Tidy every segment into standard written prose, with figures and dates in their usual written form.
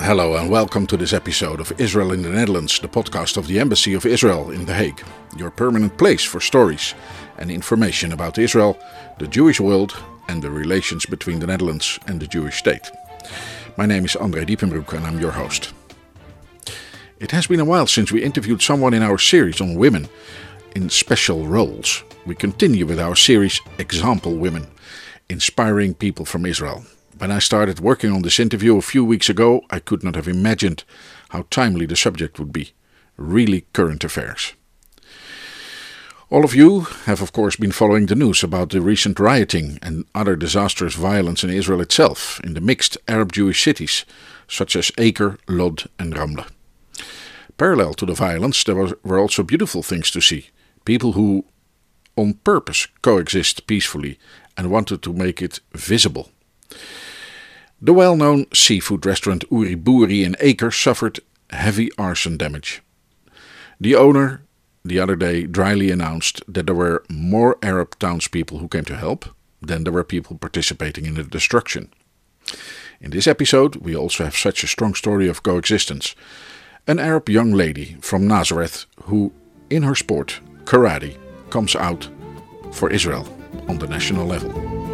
Hello and welcome to this episode of Israel in the Netherlands, the podcast of the Embassy of Israel in The Hague, your permanent place for stories and information about Israel, the Jewish world and the relations between the Netherlands and the Jewish state. My name is André Diepenbroek and I'm your host. It has been a while since we interviewed someone in our series on women in special roles. We continue with our series Example Women, inspiring people from Israel. When I started working on this interview a few weeks ago, I could not have imagined how timely the subject would be. Really current affairs. All of you have of course been following the news about the recent rioting and other disastrous violence in Israel itself, in the mixed Arab-Jewish cities such as Acre, Lod and Ramle. Parallel to the violence, there were also beautiful things to see. People who on purpose coexist peacefully and wanted to make it visible. The well-known seafood restaurant Uri Boeri in Acre suffered heavy arson damage. The owner the other day dryly announced that there were more Arab townspeople who came to help than there were people participating in the destruction. In this episode we also have such a strong story of coexistence. An Arab young lady from Nazareth who, in her sport, karate, comes out for Israel on the national level.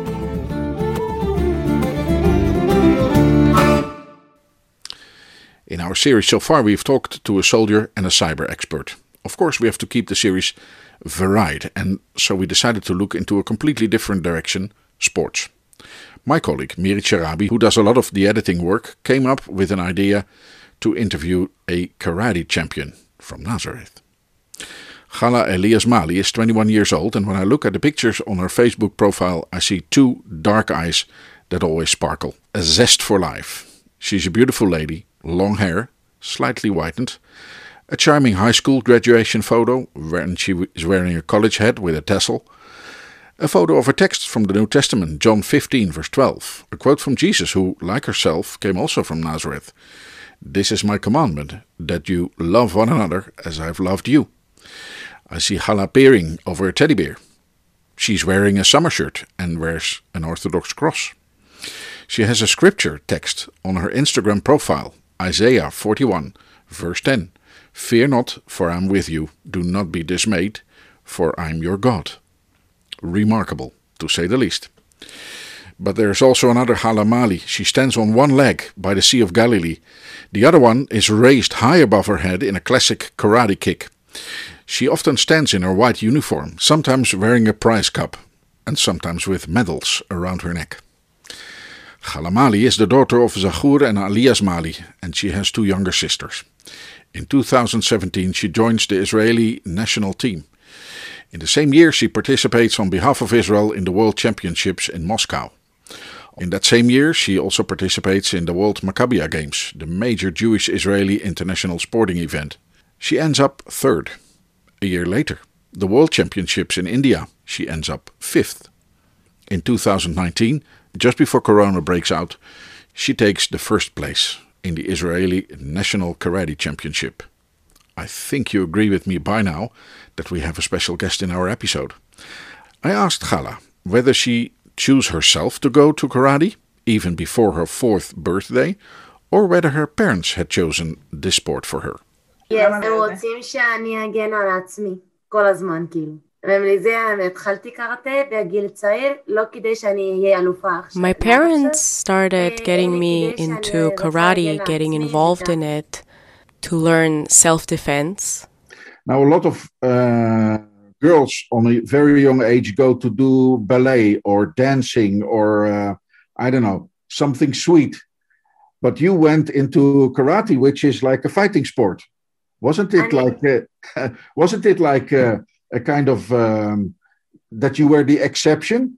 In our series so far we've talked to a soldier and a cyber expert. Of course we have to keep the series varied, and so we decided to look into a completely different direction, sports. My colleague Mirit Sharabi, who does a lot of the editing work, came up with an idea to interview a karate champion from Nazareth. Hala Eliasmali is 21 years old, and when I look at the pictures on her Facebook profile I see two dark eyes that always sparkle, a zest for life. She's a beautiful lady, long hair, slightly whitened, a charming high school graduation photo when she is wearing a college hat with a tassel, a photo of a text from the New Testament, John 15 verse 12, a quote from Jesus who, like herself, came also from Nazareth. This is my commandment, that you love one another as I've loved you. I see Hala peering over a teddy bear. She's wearing a summer shirt and wears an Orthodox cross. She has a scripture text on her Instagram profile, Isaiah 41, verse 10. Fear not, for I am with you. Do not be dismayed, for I am your God. Remarkable, to say the least. But there is also another Hala Mali. She stands on one leg by the Sea of Galilee. The other one is raised high above her head in a classic karate kick. She often stands in her white uniform, sometimes wearing a prize cup, and sometimes with medals around her neck. Hala Mali is the daughter of Zaghur and Elias Mali, and she has two younger sisters. In 2017 she joins the Israeli national team. In the same year she participates on behalf of Israel in the World Championships in Moscow. In that same year she also participates in the World Maccabiah Games, the major Jewish-Israeli international sporting event. She ends up third. A year later, the World Championships in India, she ends up fifth. In 2019, just before Corona breaks out, she takes the first place in the Israeli National Karate Championship. I think you agree with me by now that we have a special guest in our episode. I asked Hala whether she chose herself to go to karate, even before her 4th birthday, or whether her parents had chosen this sport for her. Yes, הם רוצים שאני אגן על עצמי, כל הזמן כאילו. ומלזה התחלתי קראטה בגיל צעיר, לא כדי שאני אהיה אלופה עכשיו. My parents started getting me into karate, getting involved in it, to learn self-defense. Now a lot of girls on a very young age go to do ballet or dancing or, I don't know, something sweet. But you went into karate, which is like a fighting sport. Wasn't it like a kind of that you were the exception?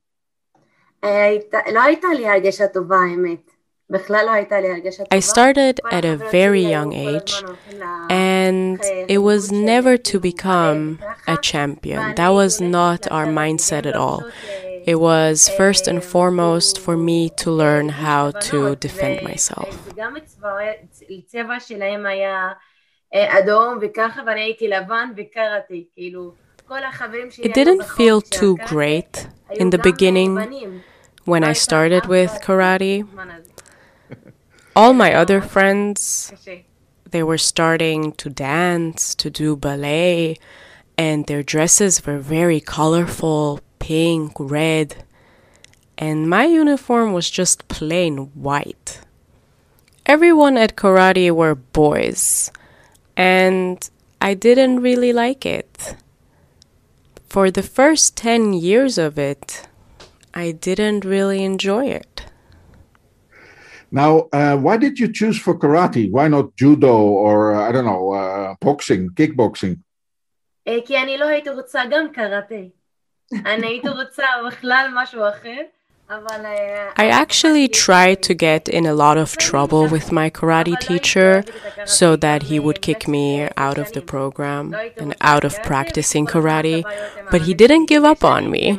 לא הייתה לי הרגשה טובה, האמת. בכלל לא הייתה לי הרגשה טובה. I started at a very young age, and it was never to become a champion. That was not our mindset at all. It was first and foremost for me to learn how to defend myself. גם הצבע שלהם היה אדום וככה, ואני הייתי לבן וקראתי, כאילו כל החברים שלי. It didn't feel too great in the beginning when I started with karate. All my other friends, they were starting to dance, to do ballet, and their dresses were very colorful, pink, red, and my uniform was just plain white. Everyone at karate were boys, and I didn't really like it. For the first 10 years of it, I didn't really enjoy it. Now, why did you choose for karate? Why not judo or, I don't know, boxing, kickboxing? כי אני לא הייתי רוצה גם קראטה. אני הייתי רוצה בכלל משהו אחר. I actually tried to get in a lot of trouble with my karate teacher so that he would kick me out of the program and out of practicing karate, but he didn't give up on me.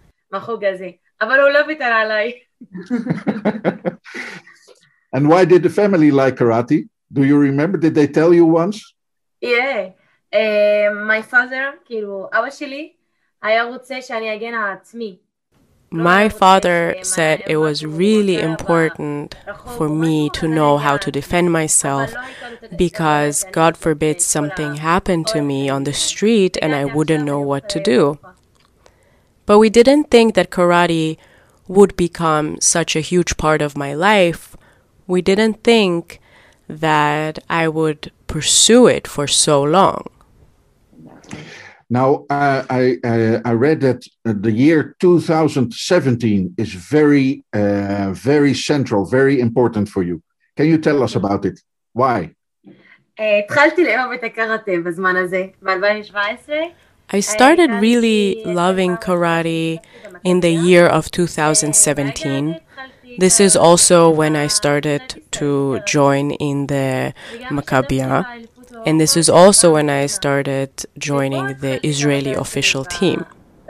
And why did the family like karate? Do you remember? Did they tell you once? Yeah. My father, אבא שלי, היה רוצה שאני אגן על עצמי. My father said it was really important for me to know how to defend myself because, God forbid, something happened to me on the street and I wouldn't know what to do. But we didn't think that karate would become such a huge part of my life. We didn't think that I would pursue it for so long. Now, I read that the year 2017 is very, very central, very important for you. Can you tell us about it? Why? התחלתי לאהוב את הקראטה בזמן הזה, ב-2017. I started really loving karate in the year of 2017. This is also when I started to join in the Maccabiah. And this is also when I started joining the Israeli official team.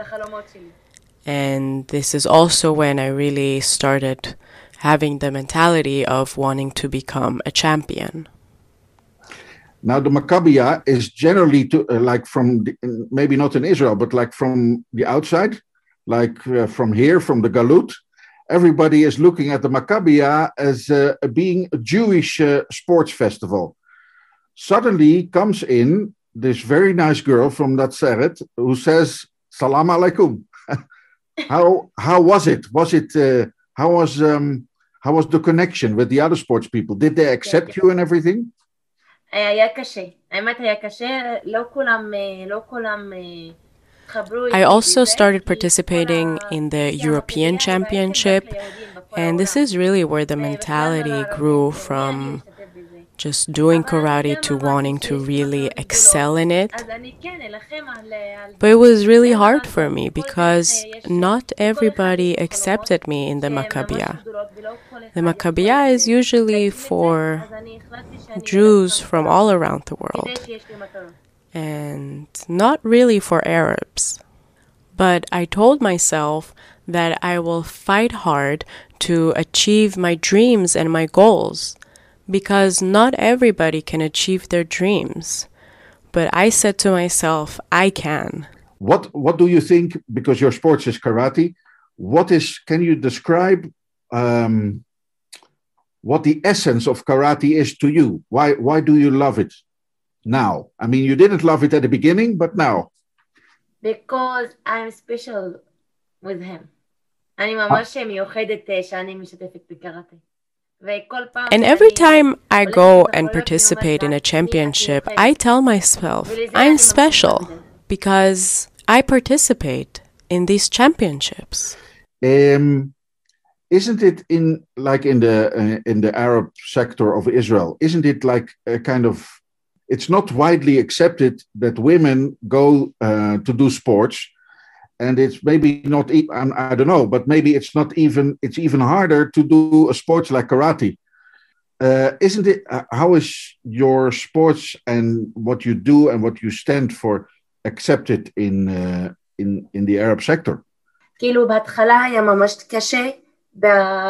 And this is also when I really started having the mentality of wanting to become a champion. Now, the Maccabiah is generally like from, maybe not in Israel, but like from the outside, like from here, from the Galut. Everybody is looking at the Maccabiah as being a Jewish sports festival. Suddenly comes in this very nice girl from Nazareth who says, Salam alaikum. How was it? How was the connection with the other sports people? Did they accept you and everything? היה קשה. האמת היה קשה. לא כולם I also started participating in the European Championship, and this is really where the mentality grew from just doing karate to wanting to really excel in it. But it was really hard for me because not everybody accepted me in the Maccabiah. The Maccabiah is usually for Jews from all around the world, and not really for Arabs. But I told myself that I will fight hard to achieve my dreams and my goals, because not everybody can achieve their dreams. But I said to myself, I can. What do you think, because your sport is karate, can you describe what the essence of karate is to you? Why do you love it now? I mean, you didn't love it at the beginning, but now. Because I'm special with him. אני ממש מיוחדת שאני משתתפת בקראטה. And every time I go and participate in a championship, I tell myself I'm special because I participate in these championships. Isn't it in the Arab sector of Israel? Isn't it like a kind of? It's not widely accepted that women go to do sports. And it's maybe not, I don't know, but maybe it's even harder to do a sport like karate. Isn't it, how is your sports and what you do and what you stand for accepted in the Arab sector? כאילו בהתחלה היה ממש קשה,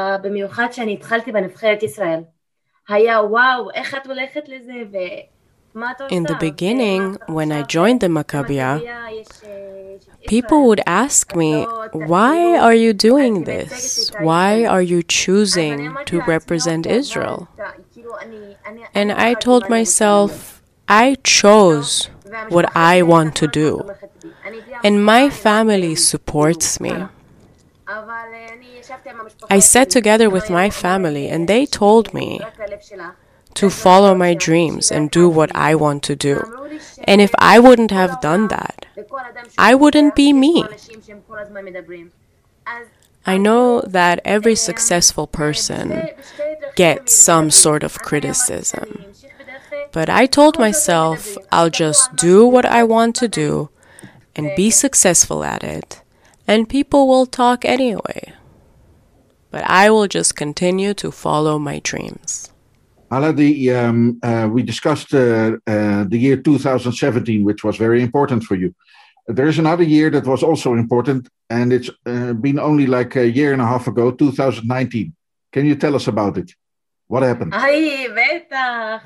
במיוחד שאני התחלתי בנבחרת ישראל. היה וואו, איך את הולכת לזה? In the beginning, when I joined the Maccabiah, people would ask me, why are you doing this? Why are you choosing to represent Israel? And I told myself, I chose what I want to do. And my family supports me. I sat together with my family and they told me to follow my dreams and do what I want to do. And if I wouldn't have done that, I wouldn't be me. I know that every successful person gets some sort of criticism. But I told myself I'll just do what I want to do and be successful at it, and people will talk anyway. But I will just continue to follow my dreams. Hala, we discussed the year 2017, which was very important for you. There is another year that was also important, and it's been only like a year and a half ago, 2019. Can you tell us about it? What happened? בטח.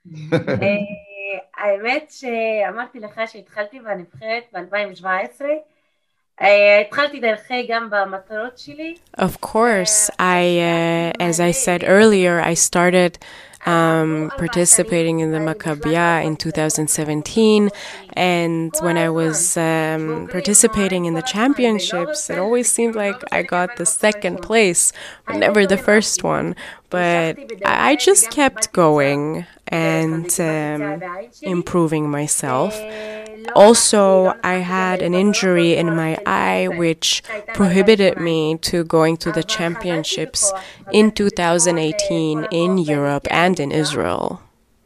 האמת שאמרתי לך שהתחלתי בנבחרת ב-2017. התחלתי דרכי גם במטרות שלי. Of course, as I said earlier, I started participating in the Maccabiah in 2017, and when I was participating in the championships, it always seemed like I got the second place, but never the first one. But I just kept going and improving myself. Also, I had an injury in my eye which prohibited me to going to the championships in 2018 in Europe and in Israel.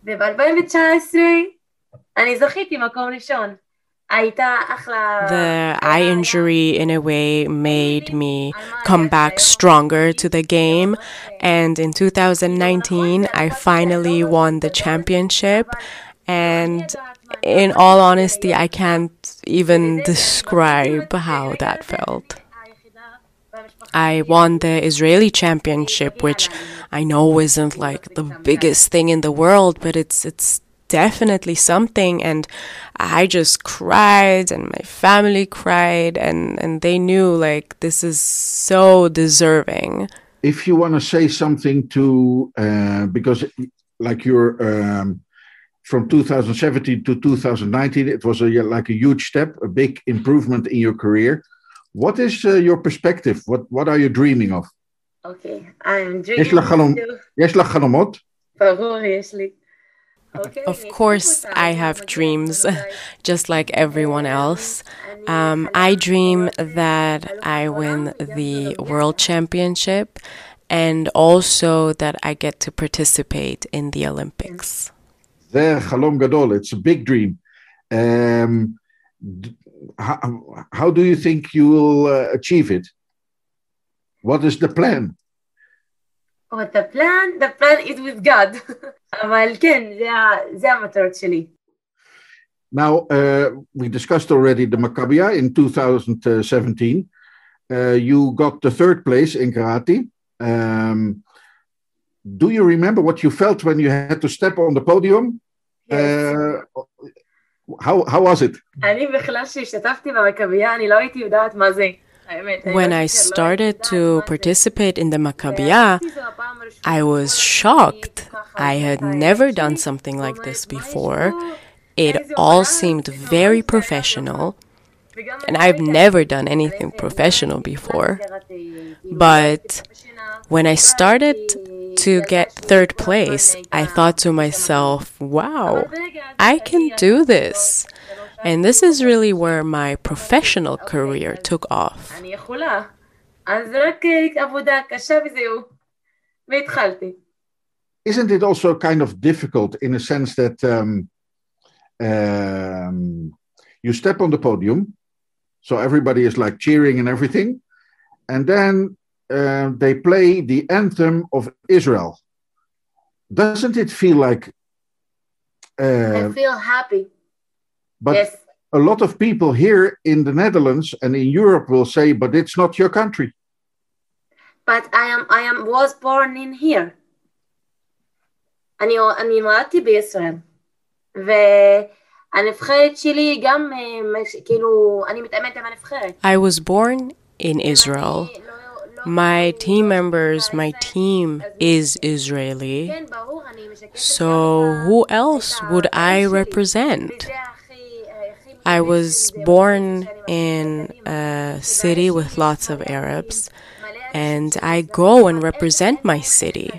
The eye injury, in a way, made me come back stronger to the game. And in 2019, I finally won the championship. And in all honesty, I can't even describe how that felt. I won the Israeli championship, which I know isn't like the biggest thing in the world, but it's definitely something. And I just cried, and my family cried, and they knew like this is so deserving. If you want to say something to, because like you're from 2017 to 2019, it was like a huge step, a big improvement in your career. What is your perspective? What are you dreaming of? Okay, I'm dreaming. יש לך חלומות? ברור, יש לי. Of course, I have dreams, just like everyone else. I dream that I win the World Championship and also that I get to participate in the Olympics. זה חלום גדול. It's a big dream. How do you think you will achieve it? What is the plan? Oh, the plan is with God. אבל כן, זה המטרות שלי. Now, we discussed already the Maccabiah in 2017. You got the third place in karate. Do you remember what you felt when you had to step on the podium? Yes. How was it? אני בכלל שהשתתפתי במכבייה, אני לא הייתי יודעת מה זה. When I started to participate in the Maccabiah, I was shocked. I had never done something like this before. It all seemed very professional, and I've never done anything professional before. But when I started to get third place, I thought to myself, wow, I can do this. And this is really where my professional career took off. Isn't it also kind of difficult in a sense that you step on the podium, so everybody is like cheering and everything, and then they play the anthem of Israel. Doesn't it feel like... I feel happy. But yes. A lot of people here in the Netherlands and in Europe will say, but it's not your country. But I was born in here. אני נולדתי בישראל. והנבחרת שלי גם, כאילו, אני מתאמנת עם הנבחרת. I was born in Israel. My team members, my team is Israeli. So who else would I represent? I was born in a city with lots of Arabs, and I go and represent my city.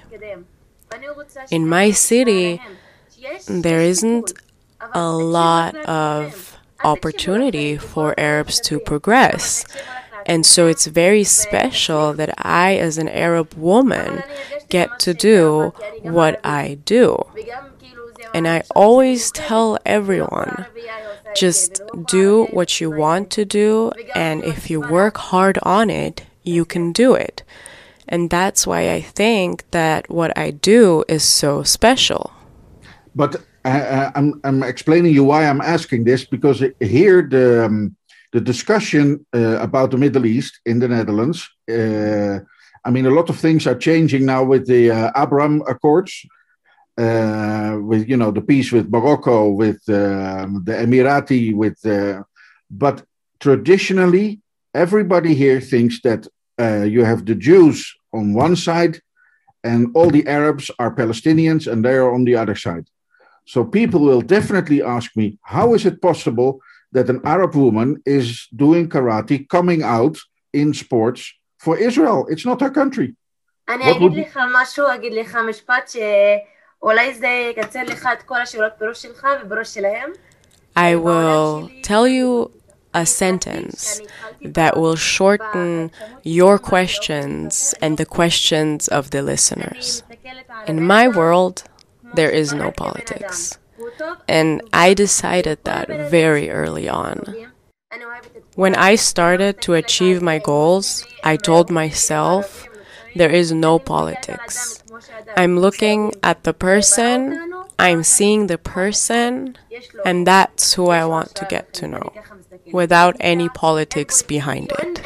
In my city, there isn't a lot of opportunity for Arabs to progress. And so it's very special that I, as an Arab woman, get to do what I do. And I always tell everyone, just do what you want to do, and if you work hard on it, you can do it. And that's why I think that what I do is so special. But I'm explaining you why I'm asking this, because here the discussion about the Middle East in the Netherlands, I mean, a lot of things are changing now with the Abraham Accords, with, you know, the peace with Morocco, with the Emirati, but traditionally, everybody here thinks that you have the Jews on one side and all the Arabs are Palestinians and they're on the other side. So people will definitely ask me, how is it possible that an Arab woman is doing karate, coming out in sports for Israel? It's not her country. אני אגיד לך משהו, אגיד לך משפט שאולי זה יקצר לך את כל השאלות בראש שלך ובראש שלהם. I will tell you a sentence that will shorten your questions and the questions of the listeners. In my world, there is no politics. And I decided that very early on. When I started to achieve my goals, I told myself, there is no politics. I'm looking at the person, I'm seeing the person, and that's who I want to get to know, without any politics behind it.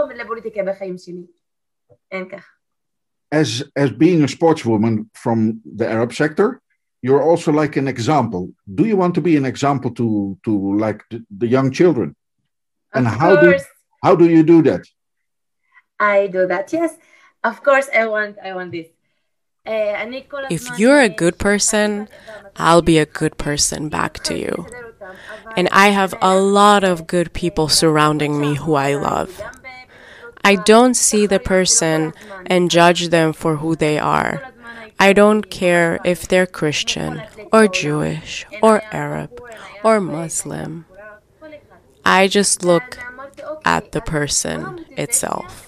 As being a sportswoman from the Arab sector, you're also like an example. Do you want to be an example to like the young children? And how do you do that? I do that, yes. Of course, I want this. If you're a good person, I'll be a good person back to you. And I have a lot of good people surrounding me who I love. I don't see the person and judge them for who they are. I don't care if they're Christian or Jewish or Arab or Muslim. I just look at the person itself.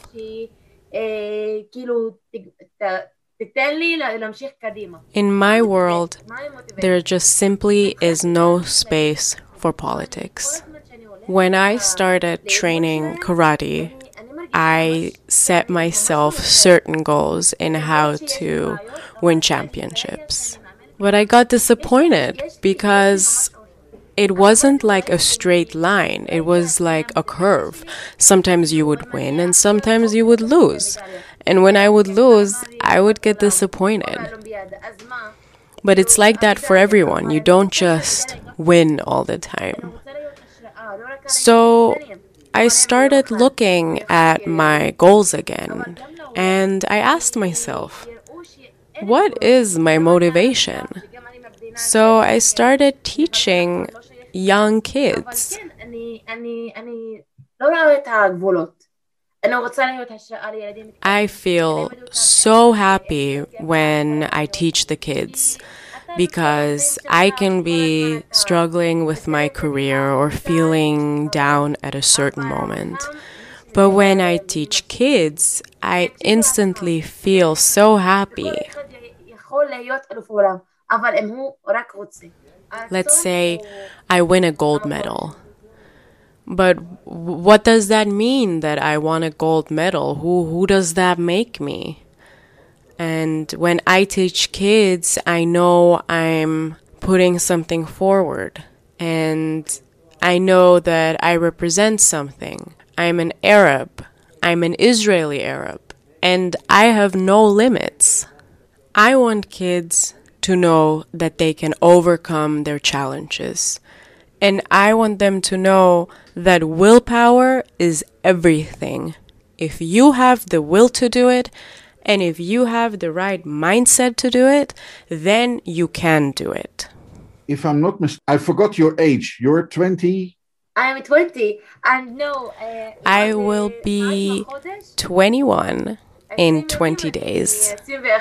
In my world, there just simply is no space for politics. When I started training karate, I set myself certain goals in how to win championships. But I got disappointed because it wasn't like a straight line. It was like a curve. Sometimes you would win and sometimes you would lose. And when I would lose, I would get disappointed. But it's like that for everyone. You don't just win all the time. So I started looking at my goals again. And I asked myself, what is my motivation? So I started teaching young kids. I feel so happy when I teach the kids because I can be struggling with my career or feeling down at a certain moment. But when I teach kids, I instantly feel so happy. Let's say I win a gold medal. But what does that mean that I won a gold medal? Who does that make me? And when I teach kids, I know I'm putting something forward. And I know that I represent something. I'm an Arab. I'm an Israeli Arab. And I have no limits. I want kids to know that they can overcome their challenges. And I want them to know that willpower is everything. If you have the will to do it, and if you have the right mindset to do it, then you can do it. If I'm not mistaken, I forgot your age. You're 20? I'm 20. And no, I will be 21 in 20 days.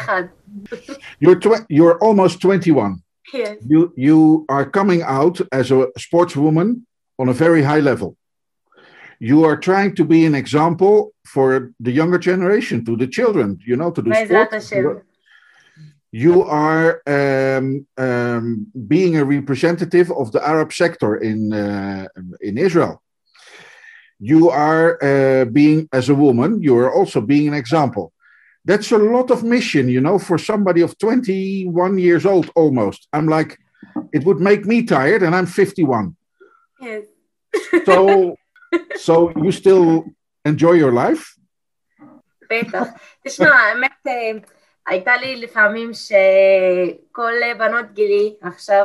You're almost 21. Yes. You are coming out as a sportswoman on a very high level. You are trying to be an example for the younger generation, to the children, to do sports. You are being a representative of the Arab sector in Israel. You are being, as a woman, you are also being an example. That's a lot of mission, for somebody of 21 years old almost. I'm like, it would make me tired, and I'm 51. Yes. So you still enjoy your life? בטח. תשמע, האמת, הייתה לי לפעמים שכל בנות גילי עכשיו,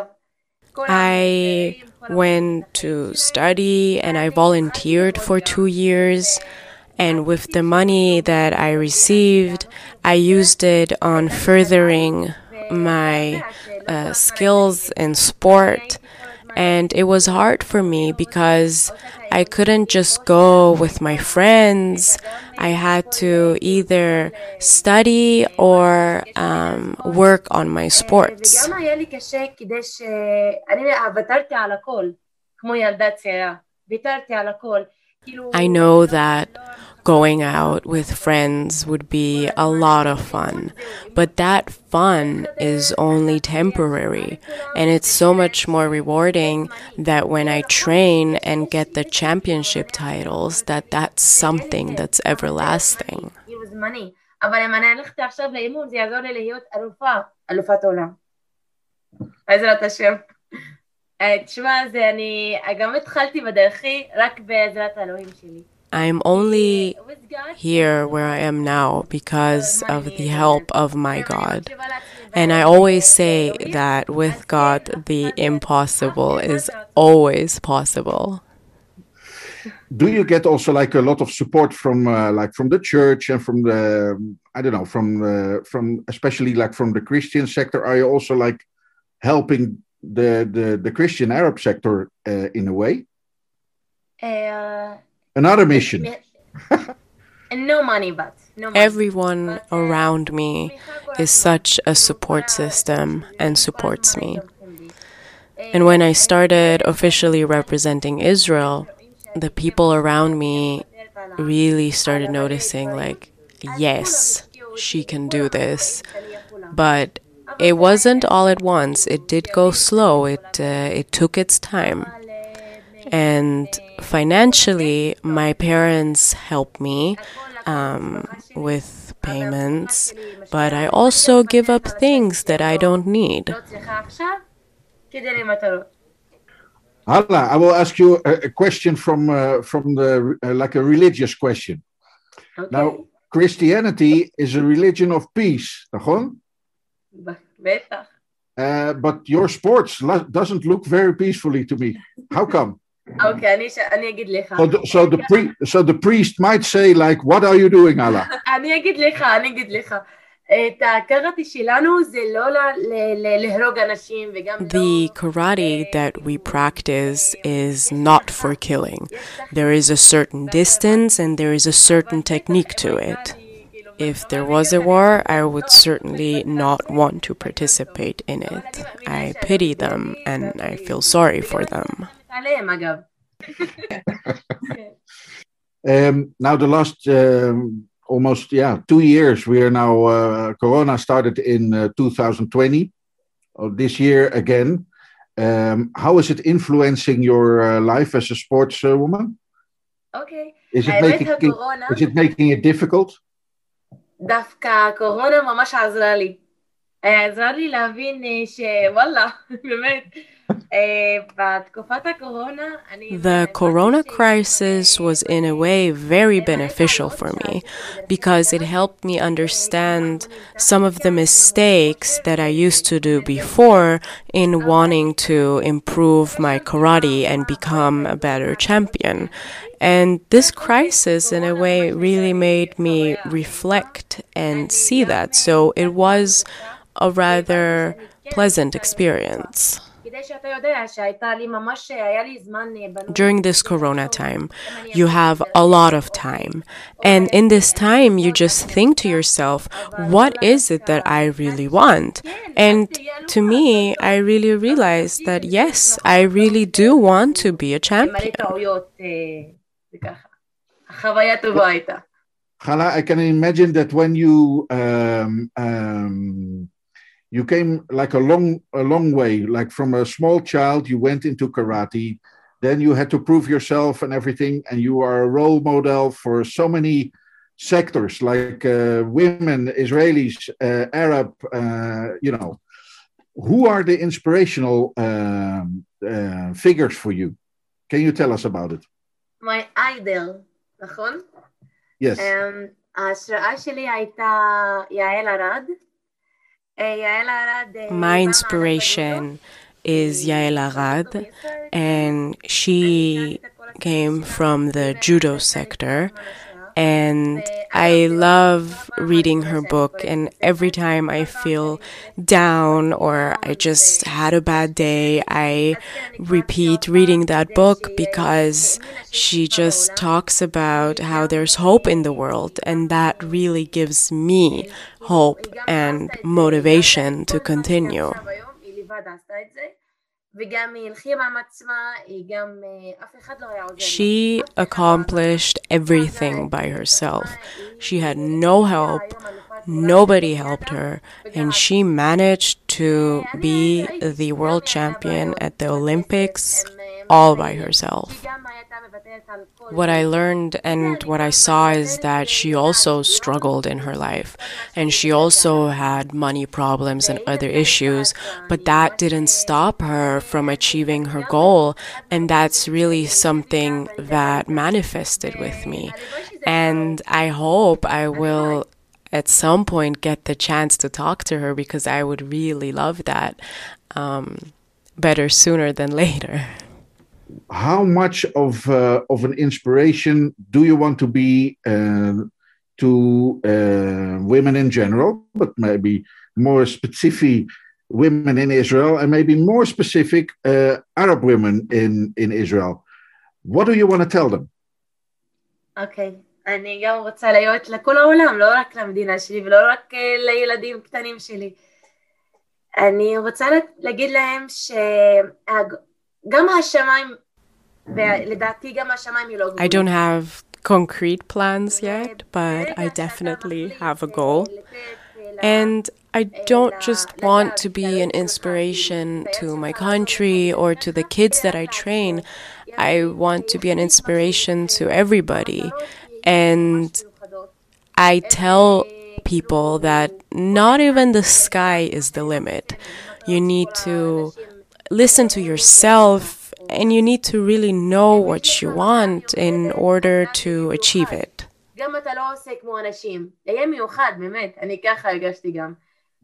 I went to study and I volunteered for 2 years. And with the money that I received, I used it on furthering my skills in sport. And it was hard for me because I couldn't just go with my friends. I had to either study or work on my sports. I know that going out with friends would be a lot of fun, but that fun is only temporary, and it's so much more rewarding that when I train and get the championship titles, that's something that's everlasting. אבל אם אני הלכת עכשיו לאימון, זה יעזור לי להיות אלופת עולם. בעזרת השם. תשמע, אני גם התחלתי בדרכי רק בעזרת האלוהים שלי. I'm only here where I am now because of the help of my God. And I always say that with God, the impossible is always possible. Do you get also like a lot of support from from the church and from the, I don't know, from especially like from the Christian sector? Are you also like helping the Christian Arab sector in a way? Another mission. No money, but no money. Everyone around me is such a support system and supports me. And when I started officially representing Israel, the people around me really started noticing, like, yes, she can do this. But it wasn't all at once. It did go slow. It took its time. And financially, my parents help me with payments, but I also give up things that I don't need. Hala, I will ask you a question from the like a religious question. Okay. Now, Christianity is a religion of peace, נכון? But your sports doesn't look very peacefully to me. How come? Okay, אני אגיד לך. So the priest might say, like, what are you doing, Allah? אני אגיד לך. את הקראטה שלנו זה לא להרוג אנשים וגם לא... The karate that we practice is not for killing. There is a certain distance and there is a certain technique to it. If there was a war, I would certainly not want to participate in it. I pity them and I feel sorry for them. Now the last almost 2 years, we are now Corona started in 2020, this year again. How is it influencing your life as a sports woman? Okay. Is it making it difficult? דווקא הקורונה ממש עזרה לי. עזרה לי להבין שוואלה, באמת, The corona crisis was in a way very beneficial for me because it helped me understand some of the mistakes that I used to do before in wanting to improve my karate and become a better champion. And this crisis, in a way, really made me reflect and see that. So it was a rather pleasant experience. During this corona time, you have a lot of time. And in this time, you just think to yourself, what is it that I really want? And to me, I really realized that, yes, I really do want to be a champion. Hala, I can imagine that when you you came like a long way, like from a small child, you went into karate, then you had to prove yourself and everything, and you are a role model for so many sectors, like women, Israelis, Arab, Who are the inspirational figures for you? Can you tell us about it? My idol, נכון? Yes. ההשראה שלי הייתה יעל ארד. My inspiration is Yael Arad, and she came from the judo sector. And I love reading her book, and every time I feel down or I just had a bad day, I repeat reading that book because she just talks about how there's hope in the world, and that really gives me hope and motivation to continue. She accomplished everything by herself. She had no help, nobody helped her, and she managed to be the world champion at the Olympics all by herself. What I learned and what I saw is that she also struggled in her life, and she also had money problems and other issues, but that didn't stop her from achieving her goal, and that's really something that manifested with me. And I hope I will at some point get the chance to talk to her, because I would really love that better sooner than later. How much of an inspiration do you want to be to women in general, but maybe more specific women in Israel, and maybe more specific Arab women in Israel? What do you want to tell them? Okay. אני גם רוצה להיות לכל העולם, לא רק למדינה שלי ולא רק לילדים קטנים שלי. אני רוצה להגיד להם שגם השמיים, ולדעתי גם השמיים היא לא גבול. I don't have concrete plans yet, but I definitely have a goal. And I don't just want to be an inspiration to my country or to the kids that I train. I want to be an inspiration to everybody. And I tell people that not even the sky is the limit. You need to listen to yourself, and you need to really know what you want in order to achieve it. גם אתה לא עושה כמו אנשים. יהיה מיוחד, באמת. אני ככה הרגשתי גם.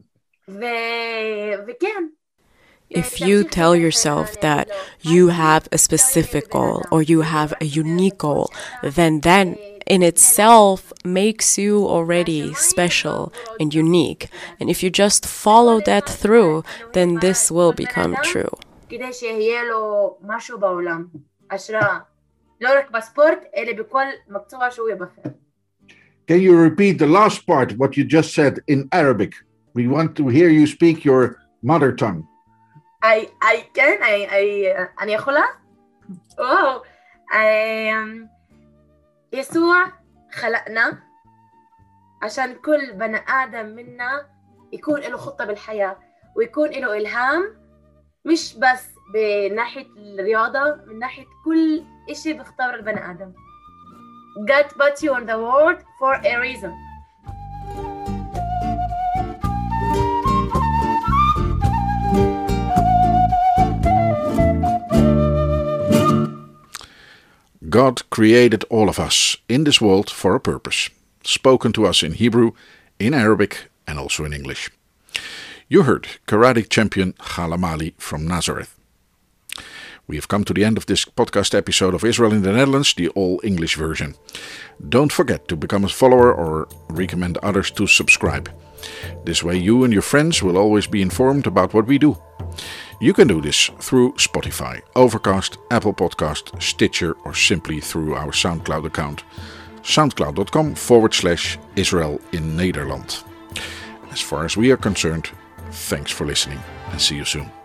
וכן. If you tell yourself that you have a specific goal or you have a unique goal, then in itself makes you already special and unique. And if you just follow that through, then this will become true. כדי שיהיה לו משהו בעולם, השראה. לא רק בספורט, אלא בכל מקצוע שהוא יבחר. Can you repeat the last part, what you just said in Arabic? We want to hear you speak your mother tongue. אני יכולה? וואו. يسوع خلقنا عشان كل بني آدم منا يكون له خطة بالحياة ويكون له إلهام مش بس بناحية الرياضة من ناحية كل إشي بيختار البني آدم. God put you on the world for a reason. God created all of us in this world for a purpose, spoken to us in Hebrew, in Arabic and also in English. You heard karate champion Ghaleb Ali from Nazareth. We have come to the end of this podcast episode of Israel in the Netherlands, the all-English version. Don't forget to become a follower or recommend others to subscribe. This way you and your friends will always be informed about what we do. You can do this through Spotify, Overcast, Apple Podcast, Stitcher or simply through our SoundCloud account. soundcloud.com/Israel in Nederland. As far as we are concerned, thanks for listening and see you soon.